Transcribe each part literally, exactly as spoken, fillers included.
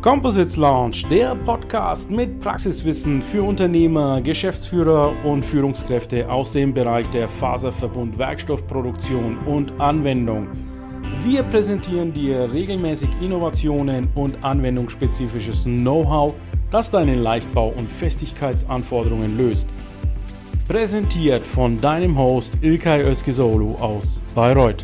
Composites Lounge, der Podcast mit Praxiswissen für Unternehmer, Geschäftsführer und Führungskräfte aus dem Bereich der Faserverbund, Werkstoffproduktion und Anwendung. Wir präsentieren dir regelmäßig Innovationen und anwendungsspezifisches Know-how, das deine Leichtbau- und Festigkeitsanforderungen löst. Präsentiert von deinem Host İlkay Özkizoğlu aus Bayreuth.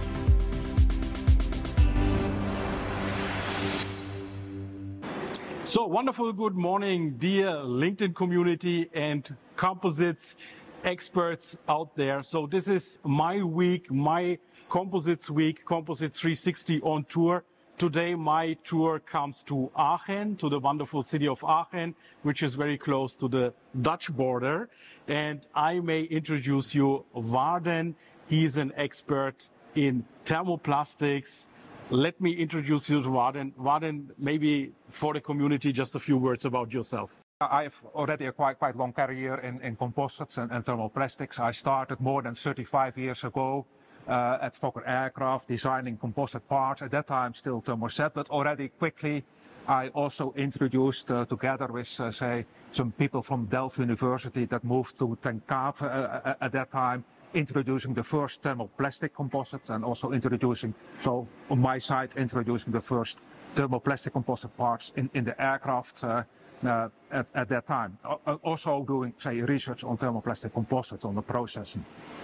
So, wonderful good morning, dear LinkedIn community and composites experts out there. So this is my week, my composites week, Composites three sixty on tour. Today my tour comes to Aachen, to the wonderful city of Aachen, which is very close to the Dutch border. And I may introduce you Waarden. He's an expert in thermoplastics. Let me introduce you to Waarden. Waarden, maybe for the community, just a few words about yourself. I have already a quite quite long career in, in composites and, and thermoplastics. I started more than thirty-five years ago uh, at Fokker Aircraft, designing composite parts. At that time, still thermoset, but already quickly I also introduced, uh, together with, uh, say, some people from Delft University that moved to Ten Kate uh, at that time, introducing the first thermoplastic composites and also introducing, so on my side, introducing the first thermoplastic composite parts in, in the aircraft uh, uh, at, at that time. Uh, also doing, say, research on thermoplastic composites, on the processing.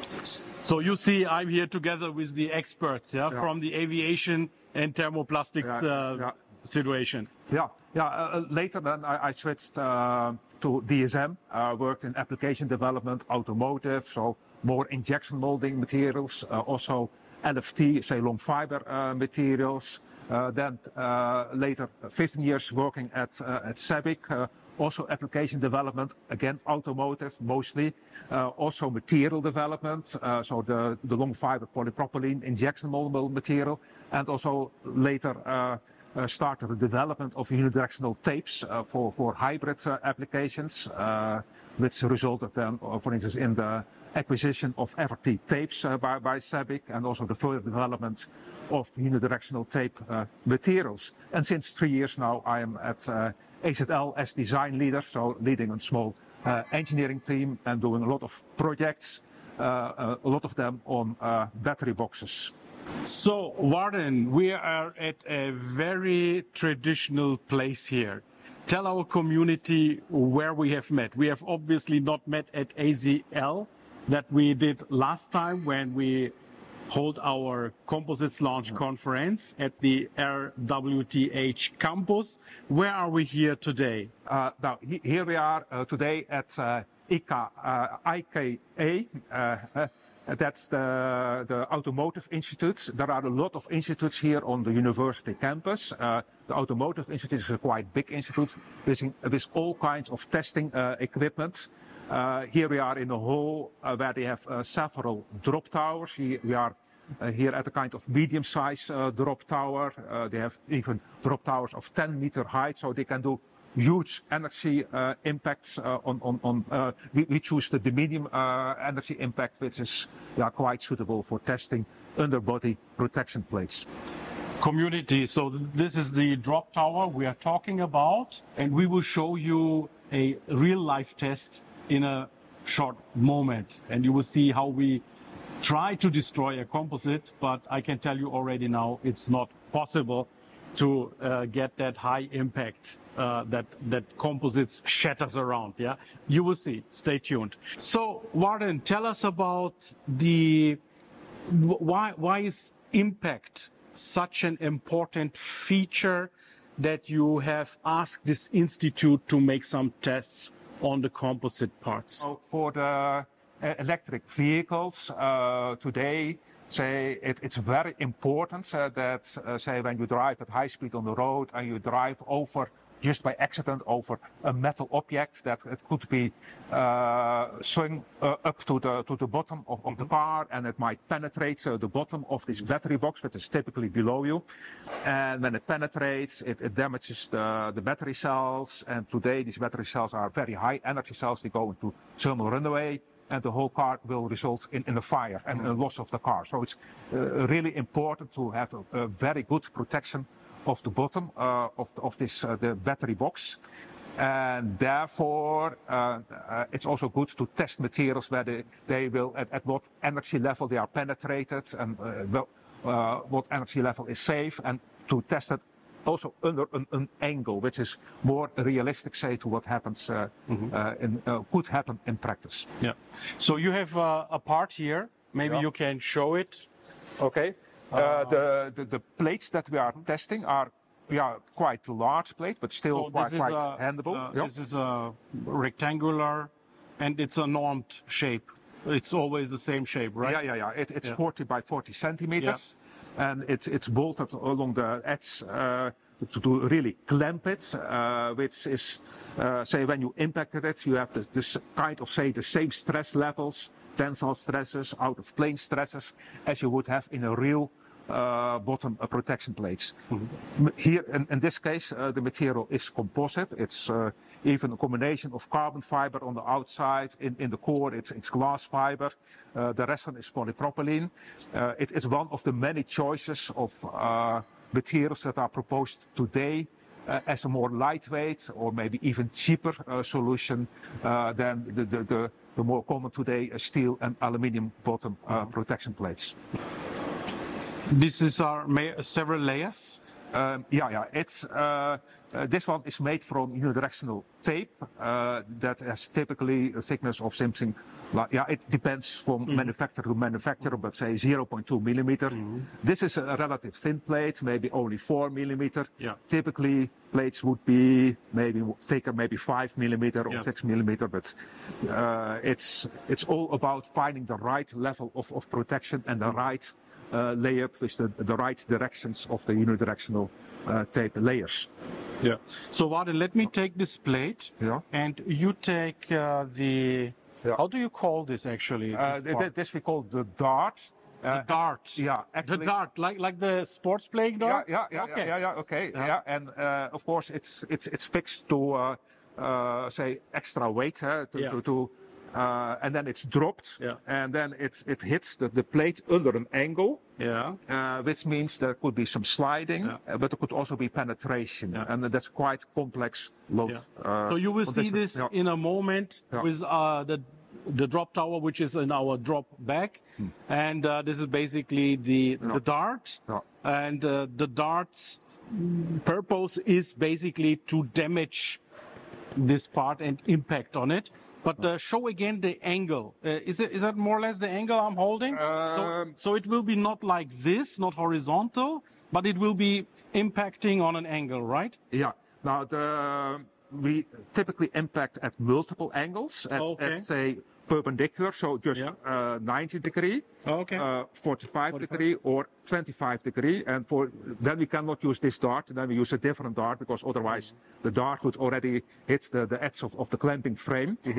So you see, I'm here together with the experts yeah, yeah. from the aviation and thermoplastics yeah, uh, yeah. situation. Yeah, yeah. Uh, later then I, I switched uh, to D S M, uh, worked in application development, automotive, so more injection molding materials, uh, also L F T, say long fiber uh, materials. Uh, then uh, later, fifteen years working at uh, at SABIC, uh, also application development, again automotive mostly, uh, also material development, uh, so the, the long fiber polypropylene injection moldable material, and also later uh, uh, started the development of unidirectional tapes uh, for, for hybrid uh, applications, uh, which resulted then, uh, for instance, in the acquisition of Everty tapes uh, by, by SABIC, and also the further development of unidirectional tape uh, materials. And since three years now, I am at uh, A Z L as design leader, so leading a small uh, engineering team and doing a lot of projects, uh, uh, a lot of them on uh, battery boxes. So, Waarden, we are at a very traditional place here. Tell our community where we have met. We have obviously not met at A Z L, that we did last time when we hold our Composites Launch yeah. conference at the R W T H campus. Where are we here today? Uh, now, he, here we are uh, today at uh, I K A, uh, I K A. Uh, uh, that's the, the Automotive Institute. There are a lot of institutes here on the university campus. Uh, the Automotive Institute is a quite big institute with, with all kinds of testing uh, equipment. Uh, here we are in a hall uh, where they have uh, several drop towers. He, we are uh, here at a kind of medium-sized uh, drop tower. Uh, they have even drop towers of ten meter height, so they can do huge energy uh, impacts uh, on, on, on uh, we, we choose the, the medium uh, energy impact, which is yeah, quite suitable for testing underbody protection plates. Community, so this is the drop tower we are talking about, and we will show you a real-life test in a short moment, and you will see how we try to destroy a composite, but I can tell you already now it's not possible to uh, get that high impact uh, that that composites shatters around. Yeah, you will see. Stay tuned. So, Waarden, tell us about the why why is impact such an important feature that you have asked this institute to make some tests on the composite parts? So for the uh, electric vehicles uh, today, say it, it's very important uh, that, uh, say, when you drive at high speed on the road and you drive over, just by accident, over a metal object, that it could be uh, swung uh, up to the to the bottom of, of the car, and it might penetrate uh, the bottom of this battery box, which is typically below you. And when it penetrates, it, it damages the, the battery cells. And today, these battery cells are very high energy cells. They go into thermal runaway, and the whole car will result in, in a fire and a loss of the car. So it's uh, really important to have a, a very good protection of the bottom uh, of, of this uh, the battery box. And therefore, uh, uh, it's also good to test materials where they, they will, at, at what energy level they are penetrated, and uh, well, uh, what energy level is safe, and to test it also under an, an angle, which is more realistic, say, to what happens, uh, mm-hmm. uh, in, uh, could happen in practice. Yeah. So you have uh, a part here. Maybe yeah. you can show it. Okay. Uh, uh, the, the the plates that we are testing are. Yeah, quite large plate, but still so quite, quite a, handleable. Uh, yep. This is a rectangular, and it's a normed shape. It's always the same shape, right? Yeah, yeah, yeah. It, it's yeah. forty by forty centimeters, yeah. and it's it's bolted along the edge uh, to, to really clamp it, uh, which is, uh, say, when you impacted it, you have this, this kind of, say, the same stress levels, tensile stresses, out of plane stresses, as you would have in a real Uh, bottom uh, protection plates. Mm-hmm. Here, in, in this case, uh, the material is composite. It's uh, even a combination of carbon fiber on the outside. In, in the core, it's, it's glass fiber. Uh, the rest is polypropylene. Uh, it is one of the many choices of uh, materials that are proposed today uh, as a more lightweight or maybe even cheaper uh, solution uh, than the, the, the, the more common today uh, steel and aluminium bottom uh, mm-hmm. protection plates. This is our several layers. Um, yeah, yeah. It's uh, uh, this one is made from unidirectional tape uh, that has typically a thickness of something. Like, yeah, it depends from mm-hmm. manufacturer to manufacturer, but say zero point two millimeter. Mm-hmm. This is a relative thin plate, maybe only four millimeter. Yeah. Typically, plates would be maybe thicker, maybe five millimeter or yeah. six millimeter. But uh, it's it's all about finding the right level of, of protection and the right. Uh, layup with the, the right directions of the unidirectional uh, tape layers. Yeah. So Warden, let me take this plate. Yeah. And you take uh, the. Yeah. How do you call this actually? Uh, this, this we call the dart. Uh, the dart. Yeah. Actually, the dart, like like the sports playing dart. Yeah. Yeah. Yeah. Okay. Yeah. Yeah. Okay. Yeah. yeah. And uh, of course, it's it's it's fixed to uh, uh, say extra weight uh, to, yeah. to to. Uh, and then it's dropped, yeah. and then it, it hits the, the plate under an angle, yeah. uh, which means there could be some sliding, yeah. uh, but there could also be penetration, yeah. and that's quite complex load. Yeah. Uh, so you will see this yeah. in a moment yeah. with uh, the the drop tower, which is in our drop bag, hmm. and uh, this is basically the yeah. the dart, yeah. and uh, the dart's purpose is basically to damage this part and impact on it. But uh, show again the angle. Uh, is it is that more or less the angle I'm holding? Um, so, so it will be not like this, not horizontal, but it will be impacting on an angle, right? Yeah. Now the we typically impact at multiple angles. At, okay. at say perpendicular, so just yeah. uh, ninety degree, okay. uh, forty-five, forty-five degree, or twenty-five degree. And for then we cannot use this dart. Then we use a different dart because otherwise mm-hmm. the dart would already hit the, the edge of, of the clamping frame. Mm-hmm.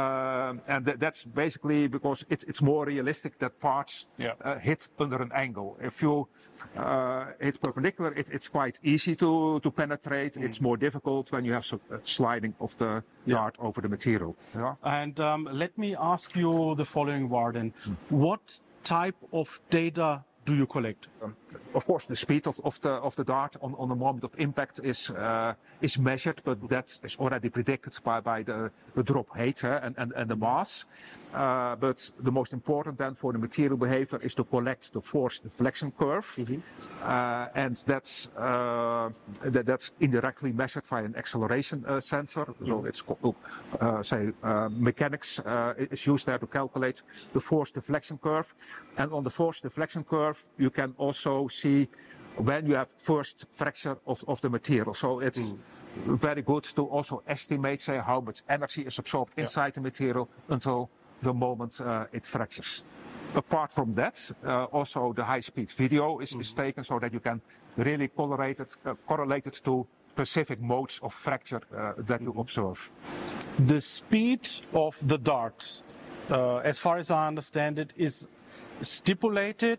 um, and th that's basically because it's it's more realistic that parts yeah. uh, hit under an angle. If you uh, hit perpendicular, it, it's quite easy to to penetrate. Mm-hmm. It's more difficult when you have some uh, sliding of the yeah. dart over the material. Yeah. And um, let me ask you the following, Warden. Mm. What type of data do you collect? Um, of course, the speed of, of the of the dart on, on the moment of impact is uh, is measured, but that is already predicted by, by the, the drop height uh, and, and, and the mass. Uh, but the most important then for the material behavior is to collect the force deflection curve, mm-hmm. uh, and that's uh, that, that's indirectly measured by an acceleration uh, sensor. Mm-hmm. So it's called, uh, say uh, mechanics uh, is used there to calculate the force deflection curve, and on the force deflection curve you can also see when you have first fracture of, of the material. So it's mm. very good to also estimate, say, how much energy is absorbed yeah. inside the material until the moment uh, it fractures. Apart from that, uh, also the high-speed video is, mm-hmm. is taken so that you can really correlate it, uh, correlate it to specific modes of fracture uh, that mm-hmm. you observe. The speed of the dart, uh, as far as I understand it, is stipulated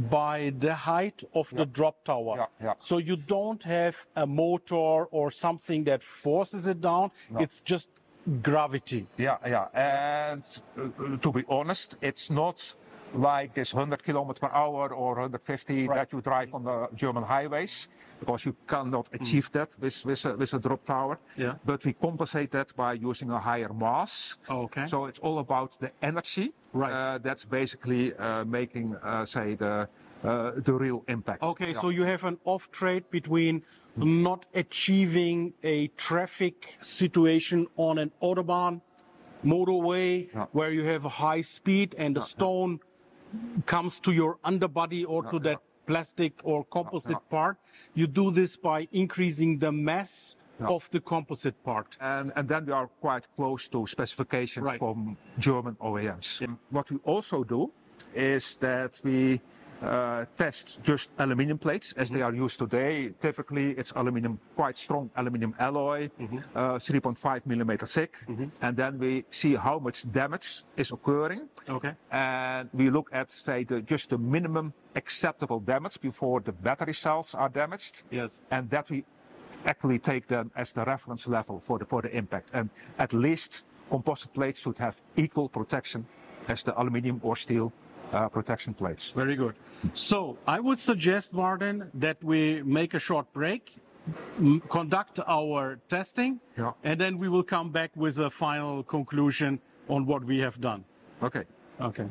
by the height of yeah. the drop tower. Yeah, yeah. So you don't have a motor or something that forces it down. No. It's just gravity. Yeah, yeah. And uh, to be honest, it's not like this one hundred kilometers per hour or one hundred fifty Right. that you drive on the German highways, because you cannot achieve that with, with, a, with a drop tower. Yeah. But we compensate that by using a higher mass. Okay. So it's all about the energy. Right. Uh, that's basically uh, making, uh, say, the uh, the real impact. Okay, Yeah. so you have an off trade between not achieving a traffic situation on an autobahn motorway Yeah. where you have a high speed and the stone comes to your underbody or to that plastic or composite Yeah. part. You do this by increasing the mass Yeah. of the composite part. And, and then we are quite close to specifications Right. from German O E Ms. What we also do is that we uh, test just aluminum plates as they are used today. Typically, it's aluminum, quite strong aluminum alloy, uh, three point five millimeter thick. And then we see how much damage is occurring. Okay. And we look at, say, the, just the minimum acceptable damage before the battery cells are damaged. Yes. And that we actually take them as the reference level for the, for the impact. And at least composite plates should have equal protection as the aluminum or steel uh, protection plates. Very good. So I would suggest, Warden, that we make a short break, m- conduct our testing, Yeah. and then we will come back with a final conclusion on what we have done. Okay. Okay.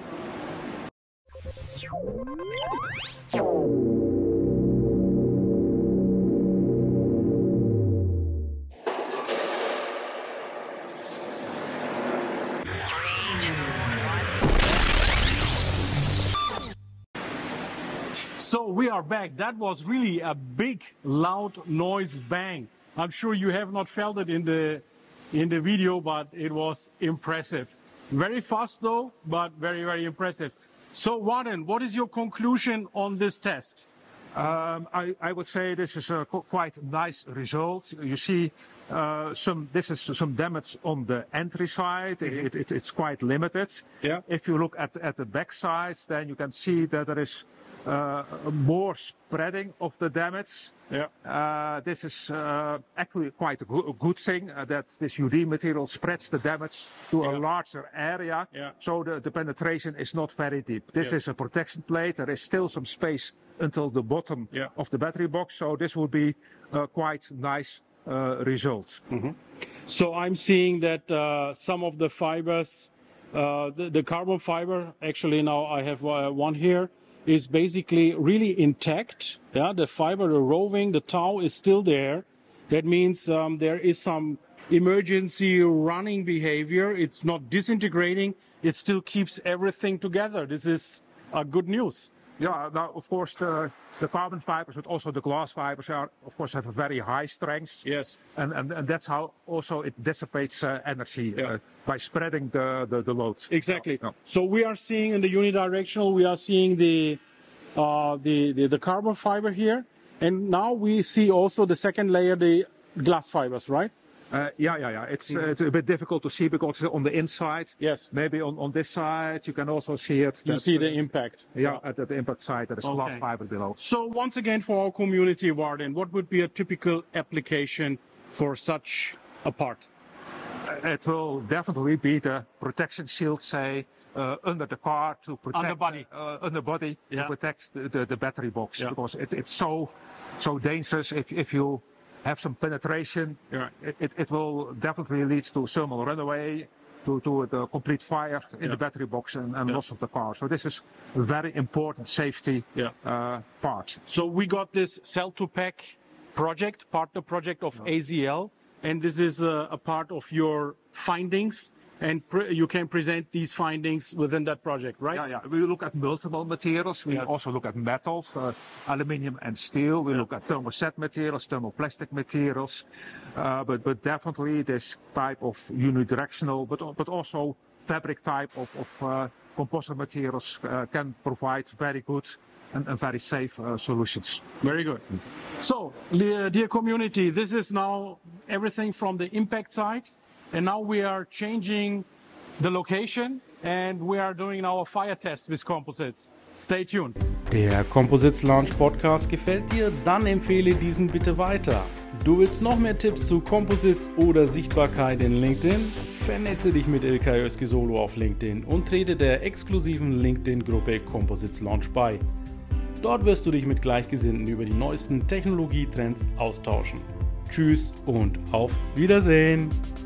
So we are back. That was really a big, loud noise bang. I'm sure you have not felt it in the in the video, but it was impressive. Very fast though, but very, very impressive. So Warden, what is your conclusion on this test? Um, I, I would say this is a qu- quite nice result. You see, uh, some this is some damage on the entry side. It, it, it's quite limited. Yeah. If you look at at the back side, then you can see that there is uh, more spreading of the damage. Yeah. Uh, this is uh, actually quite a, go- a good thing uh, that this U D material spreads the damage to Yeah. a larger area. Yeah. So the, the penetration is not very deep. This Yeah. is a protection plate. There is still some space until the bottom Yeah. of the battery box. So this would be a quite nice uh, result. So I'm seeing that uh, some of the fibers, uh, the, the carbon fiber, actually now I have uh, one here, is basically really intact. Yeah, the fiber, the roving, the tow is still there. That means um, there is some emergency running behavior. It's not disintegrating. It still keeps everything together. This is uh, good news. Yeah, now of course the, the carbon fibers, but also the glass fibers are, of course, have a very high strength. Yes. And, and, and that's how also it dissipates uh, energy Yeah. uh, by spreading the, the, the load. Exactly. Yeah. So we are seeing in the unidirectional, we are seeing the, uh, the, the the carbon fiber here, and now we see also the second layer, the glass fibers, right? Uh, yeah, yeah, yeah. It's uh, it's a bit difficult to see because it's on the inside. Yes. Maybe on, on this side you can also see it. You that, see the uh, impact. yeah, at, at the impact side there is Okay. glass fiber below. So once again, for our community, Warden, what would be a typical application for such a part? It will definitely be the protection shield, say, uh, under the car to protect Underbody. uh, underbody Yeah. to protect the, the, the battery box Yeah. because it, it's so so dangerous if if you have some penetration. Yeah. It, it, it will definitely lead to thermal runaway, to, to the complete fire in Yeah. the battery box and, and Yeah. loss of the car. So this is a very important safety Yeah. uh, part. So we got this cell to pack project, partner project of A Z L, and this is a, a part of your findings, and pre- you can present these findings within that project, right? Yeah, yeah. We look at multiple materials. We Yes. also look at metals, uh, aluminium and steel. We look at thermoset materials, thermoplastic materials. Uh, but, but definitely this type of unidirectional, but, but also fabric type of, of uh, composite materials uh, can provide very good and, and very safe uh, solutions. Very good. So, dear dear community, this is now everything from the impact side, and now we are changing the location and we are doing our fire test with composites. Stay tuned. Der Composites Lounge Podcast gefällt dir? Dann empfehle diesen bitte weiter. Du willst noch mehr Tipps zu Composites oder Sichtbarkeit in LinkedIn? Vernetze dich mit Ilkay Özki-Solo auf LinkedIn und trete der exklusiven LinkedIn-Gruppe Composites Launch bei. Dort wirst du dich mit Gleichgesinnten über die neuesten Technologietrends austauschen. Tschüss und auf Wiedersehen!